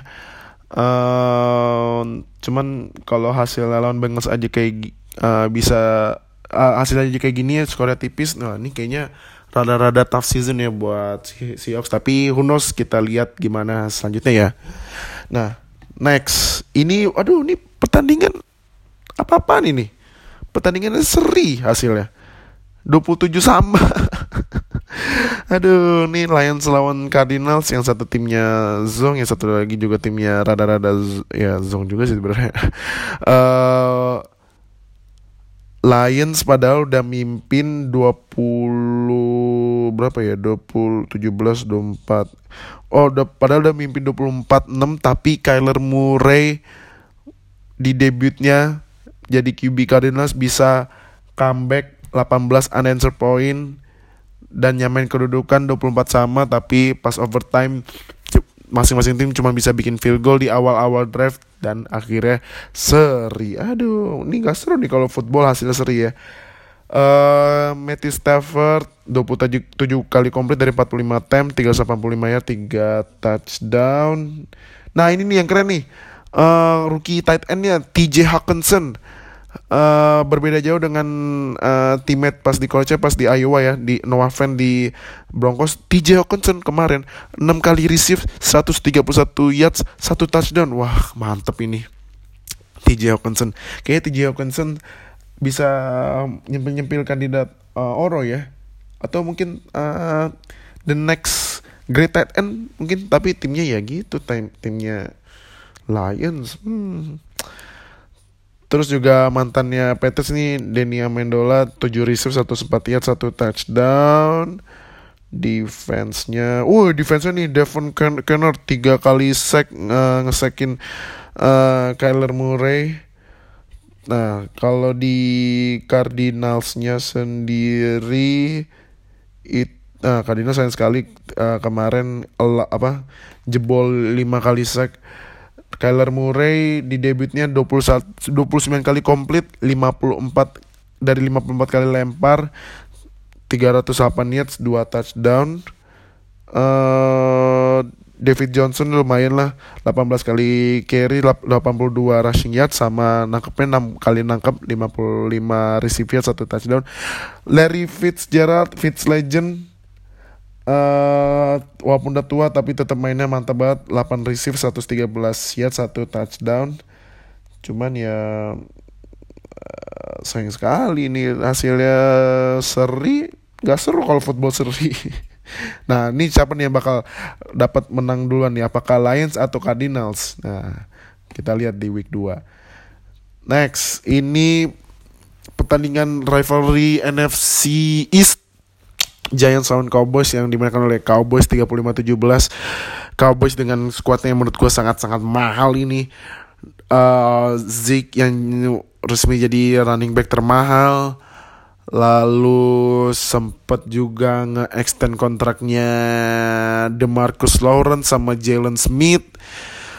Cuman kalau hasil lawan Bengals aja kayak hasil aja kayak gini ya, skornya tipis. Nah ini kayaknya rada-rada tough season ya buat Seahawks. Tapi who knows, kita lihat gimana selanjutnya ya. Nah next, ini pertandingan apa-apaan ini? Pertandingannya seri hasilnya 27 sama. Aduh, nih Lions lawan Cardinals, yang satu timnya Zong, yang satu lagi juga timnya rada-rada ya Zong juga sih sebenarnya. Lions padahal udah mimpin 20 berapa ya? 17-24. Padahal udah mimpin 24-6, tapi Kyler Murray di debutnya jadi QB Cardinals bisa comeback 18 unanswered point dan nyamain kedudukan 24 sama, tapi pas overtime masing-masing tim cuma bisa bikin field goal di awal-awal drive dan akhirnya seri. Aduh, ini gak seru nih kalau football hasilnya seri ya. Matthew Stafford 27 kali komplit dari 45 attempt, 385 yard, 3 touchdown. Nah ini nih yang keren nih, rookie tight endnya TJ Hawkinson. Berbeda jauh dengan teammate pas di college, pas di Iowa ya, di Noah Fant di Broncos. TJ Hawkinson kemarin 6 kali receive, 131 yards, 1 touchdown. Wah mantep ini TJ Hawkinson. Kayaknya TJ Hawkinson bisa nyempil kandidat Oro ya, atau mungkin the next great tight end mungkin. Tapi timnya ya gitu, timnya Lions. Terus juga mantannya Patriots nih, Danny Amendola 7 receive, 1 yard, 1 touchdown. Defense-nya nih Devon Kennard 3 kali sack, ngesekin Kyler Murray. Nah kalau di Cardinals-nya sendiri Cardinals sayang sekali kemarin jebol 5 kali sack. Kyler Murray di debutnya 29 kali komplit, 54 kali lempar, 308 yards, 2 touchdown. David Johnson lumayan lah, 18 kali carry, 82 rushing yards, sama nangkepnya 6 kali nangkep, 55 receive yards, 1 touchdown. Larry Fitzgerald, Legend, walaupun udah tua tapi tetap mainnya mantap banget, 8 receive, 113 yards, 1 touchdown. Cuman ya sayang sekali nih hasilnya seri. Gak seru kalau football seri. Nah ini siapa nih yang bakal dapat menang duluan nih, apakah Lions atau Cardinals? Nah kita lihat di week 2. Next, ini pertandingan rivalry NFC East, Giants lawan Cowboys, yang dimenangkan oleh Cowboys 35-17. Cowboys dengan skuadnya yang menurut gue sangat-sangat mahal ini. Zeke yang resmi jadi running back termahal. Lalu sempat juga nge-extend kontraknya DeMarcus Lawrence sama Jalen Smith.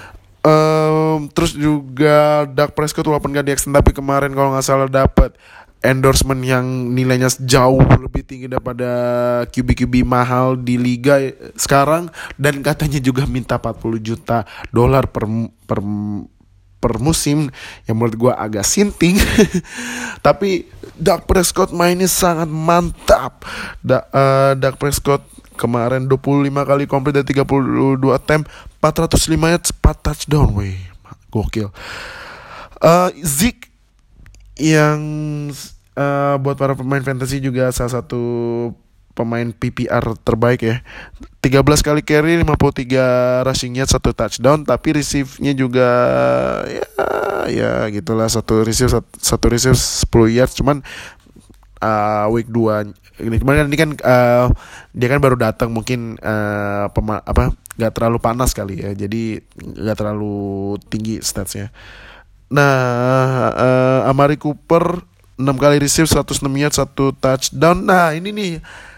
Terus juga Dak Prescott walaupun gak di-extend tapi kemarin kalau gak salah dapat endorsement yang nilainya jauh lebih tinggi daripada QB mahal di liga sekarang, dan katanya juga minta 40 juta dolar per musim, yang menurut gue agak sinting. Tapi Dak Prescott mainnya sangat mantap. Dak Prescott kemarin 25 kali komplit dari 32 attempt, 405 yards, 4 touchdown, weh, gokil. Zeke yang buat para pemain fantasy juga salah satu pemain PPR terbaik ya. 13 kali carry, 53 rushing yards, 1 touchdown, tapi receive-nya juga ya gitulah, satu receive 10 yards. Cuman week 2 ini kan dia kan baru datang, mungkin gak terlalu panas kali ya, jadi gak terlalu tinggi statsnya. Nah, Amari Cooper 6 kali receive, 106 yards, 1 touchdown. Nah, ini nih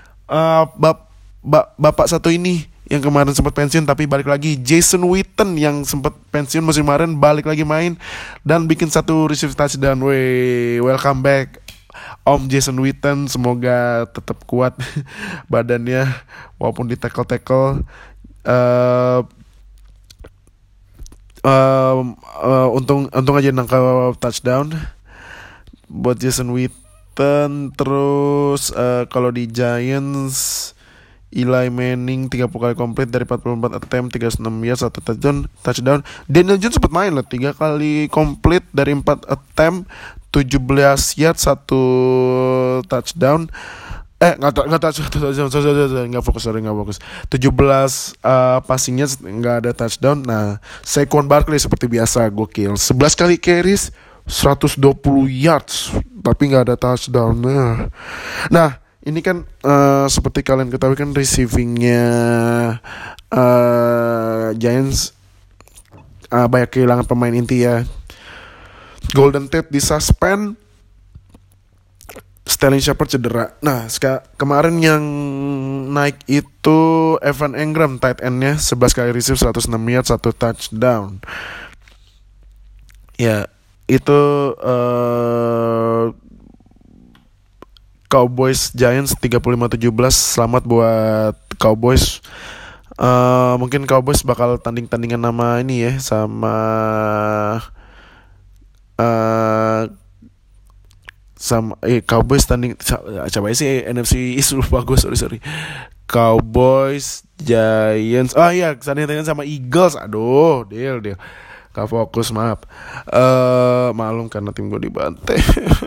bapak satu ini yang kemarin sempat pensiun tapi balik lagi, Jason Witten, yang sempat pensiun musim kemarin balik lagi main dan bikin 1 receive touchdown. Welcome back Om Jason Witten, semoga tetap kuat badannya walaupun di tackle. Untung aja nangkap touchdown buat Jason Witten. Terus kalau di Giants, Eli Manning 30 kali komplit dari 44 attempt, 36 yards, 1 touchdown. Daniel Jones sempat main 3 kali komplit dari 4 attempt, 17 yards, 1 touchdown. Nggak fokus. 17 passingnya nggak ada touchdown. Nah, Saquon Barkley seperti biasa gokil, 11 kali carries, 120 yards, tapi nggak ada touchdown. Nah, ini kan seperti kalian ketahui kan, receivingnya Giants banyak kehilangan pemain inti ya. Golden Tate disuspend, Sterling Shepard cedera. Nah, kemarin yang naik itu Evan Engram, tight endnya, 11 kali receive, 106 yards, 1 touchdown. Ya, itu Cowboys Giants 35-17. Selamat buat Cowboys. Mungkin Cowboys bakal tandingan nama ini ya, sama Cowboys tanding coba sih NFC East, lupa gue, sorry. Cowboys Giants, tandingan sama Eagles. Aduh, deal gak fokus, maaf. Malum karena tim gue dibantai.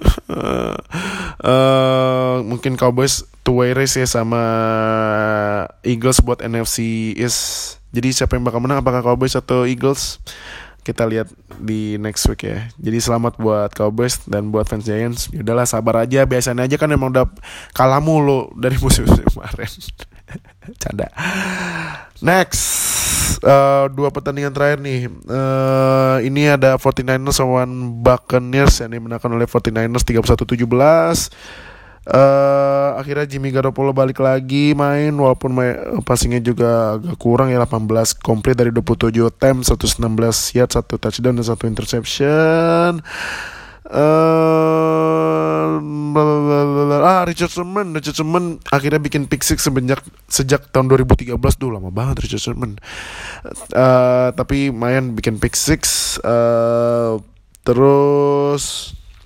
Mungkin Cowboys two-way race ya sama Eagles buat NFC East. Jadi siapa yang bakal menang, apakah Cowboys atau Eagles? Kita lihat di next week ya. Jadi selamat buat Cowboys dan buat fans Giants. Yaudahlah, sabar aja, biasanya aja kan emang udah kalah mulu dari musim kemarin. Canda. Next, 2 pertandingan terakhir nih. Ini ada 49ers lawan Buccaneers yang dimenangkan oleh 49ers 31-17. Akhirnya Jimmy Garoppolo balik lagi main, walaupun passingnya juga agak kurang ya, 18 komplit dari 27 attempt, 116 yards, 1 touchdown dan 1 interception. Richard Sherman akhirnya bikin pick six sejak tahun 2013. Lama banget Richard Sherman. Tapi main bikin pick six. Terus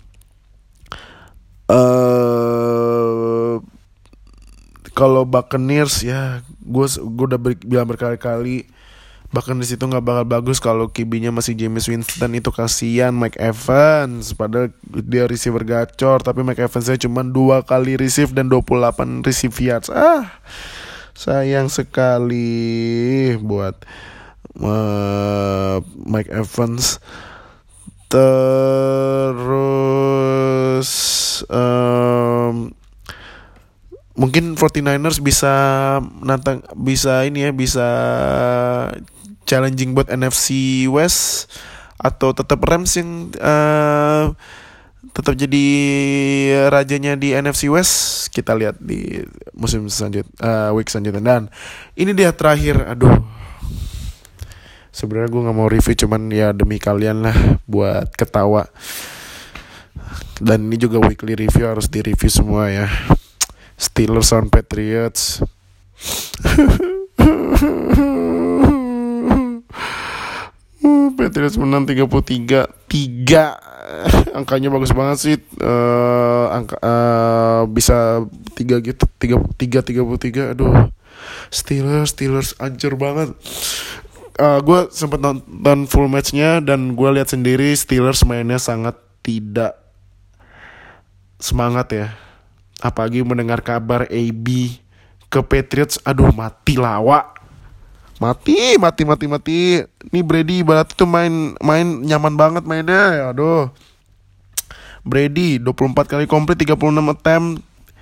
kalau Buccaneers ya, gue udah bilang berkali-kali, Buccaneers itu nggak bakal bagus kalau QB-nya masih Jameis Winston. Itu kasihan Mike Evans, padahal dia receiver gacor, tapi Mike Evans-nya cuma 2 kali receive dan 28 receive yards. Sayang sekali buat Mike Evans. Terus mungkin 49ers bisa challenging buat NFC West, atau tetap Rams yang tetap jadi rajanya di NFC West. Kita lihat di musim week selanjutnya. Dan ini dia terakhir. Aduh, sebenarnya gue nggak mau review, cuman ya demi kalian lah buat ketawa. Dan ini juga weekly review, harus di-review semua ya. Steelers on Patriots. Patriots menang 33-3. Angkanya bagus banget sih. Bisa 3 gitu, 33. Aduh. Steelers hancur banget. Gue sempet nonton full matchnya dan gue lihat sendiri Steelers mainnya sangat tidak semangat ya. Apalagi mendengar kabar AB ke Patriots, aduh mati lawa. Mati. Ini Brady ibarat itu main nyaman banget mainnya. Aduh. Brady 24 kali komplit, 36 attempt,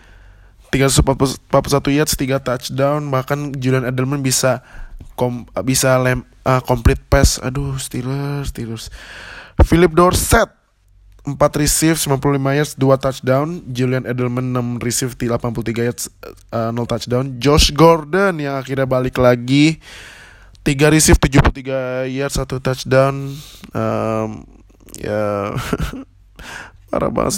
341 yards, 3 touchdown. Bahkan Julian Edelman bisa complete pass. Aduh, Steelers. Philip Dorsett 4 receive, 95 yards, 2 touchdown. Julian Edelman 6 receive, 83 yards, 0 touchdown. Josh Gordon yang akhirnya balik lagi, 3 receive, 73 yards, 1 touchdown. Ya parah banget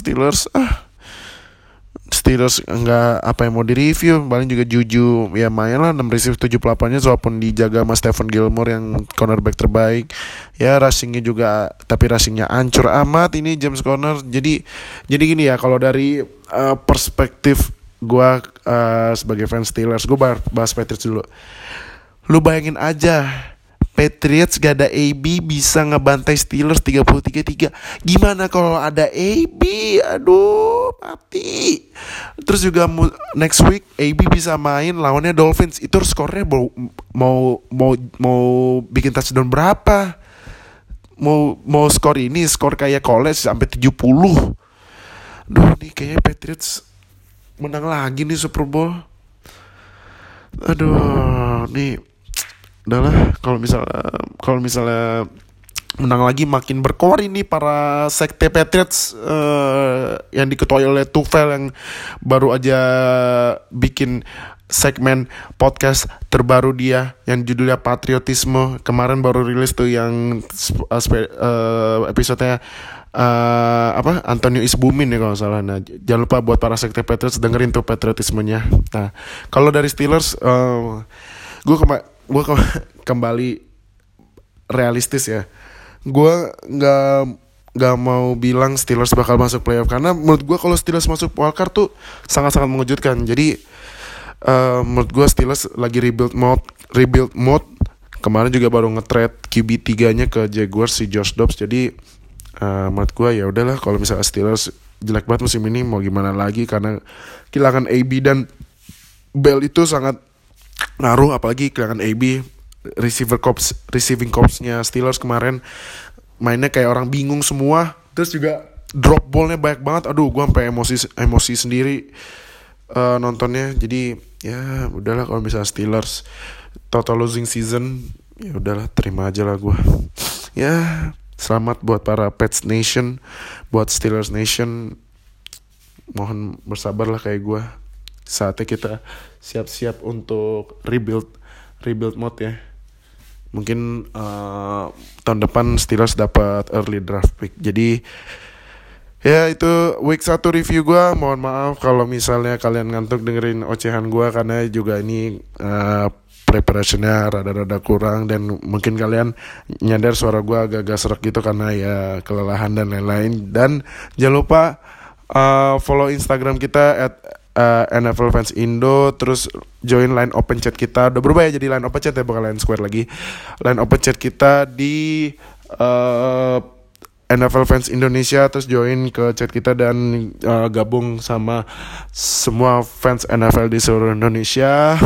Steelers nggak apa yang mau direview. Paling juga Juju ya main lah, 6 receive 78-nya, walaupun dijaga sama Stephen Gilmore yang cornerback terbaik. Ya rushingnya juga, tapi rushingnya hancur amat ini James Conner. Jadi gini ya, kalau dari perspektif gue sebagai fans Steelers, gue bahas Patriots dulu. Lu bayangin aja, Patriots gak ada AB bisa ngebantai Steelers 33-3. Gimana kalau ada AB? Aduh, mati. Terus juga next week AB bisa main lawannya Dolphins. Itu skornya mau bikin touchdown berapa? Mau skor ini, skor kayak college sampai 70. Duh, nih kayaknya Patriots menang lagi nih Super Bowl. Aduh, nih udahlah, kalau misalnya menang lagi makin berkoar ini para sekte Patriots yang diketuai oleh Tufel yang baru aja bikin segmen podcast terbaru dia yang judulnya Patriotisme. Kemarin baru rilis tuh yang episodenya Antonio Isbumin ya kalau salah. Nah, jangan lupa buat para sekte Patriots dengerin tuh patriotismenya. Nah, kalau dari Steelers gue kembali realistis ya. Gue nggak mau bilang Steelers bakal masuk playoff, karena menurut gue kalau Steelers masuk wildcard tuh sangat-sangat mengejutkan. Jadi menurut gue Steelers lagi rebuild mode. Kemarin juga baru nge-trade QB 3-nya ke Jaguars, si Josh Dobbs. Jadi menurut gue ya udahlah, kalau misalnya Steelers jelek banget musim ini mau gimana lagi, karena kehilangan AB dan Bell itu sangat ngaruh. Apalagi kehilangan AB, receiving corps-nya Steelers kemarin mainnya kayak orang bingung semua. Terus juga drop ball-nya banyak banget. Aduh, gue sampai emosi sendiri nontonnya. Jadi ya udahlah, kalau misalnya Steelers total losing season, ya udahlah, terima aja lah gue. Ya selamat buat para Pats Nation, buat Steelers Nation. Mohon bersabar lah kayak gue. Saatnya kita siap-siap untuk rebuild mode ya. Mungkin tahun depan Steelers dapat early draft pick. Jadi ya itu week 1 review gue. Mohon maaf kalau misalnya kalian ngantuk dengerin ocehan gue, karena juga ini preparationnya rada-rada kurang, dan mungkin kalian nyadar suara gue agak-agak serak gitu karena ya kelelahan dan lain-lain. Dan jangan lupa follow Instagram kita NFL Fans Indo. Terus join line open chat kita. Udah berubah ya jadi line open chat ya, bukan line square lagi. Line open chat kita di NFL Fans Indonesia. Terus join ke chat kita dan gabung sama semua fans NFL di seluruh Indonesia.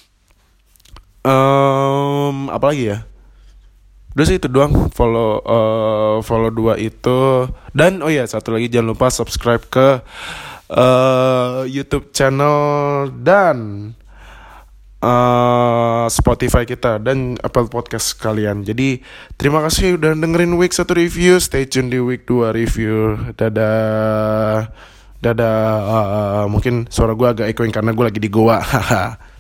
Apa lagi ya? Udah sih itu doang. Follow 2 itu. Dan oh ya, satu lagi, jangan lupa subscribe ke YouTube channel dan Spotify kita dan Apple Podcast kalian. Jadi terima kasih udah dengerin week 1 review. Stay tune di week 2 review. Dadah. Mungkin suara gue agak echoing karena gue lagi di Goa. Haha.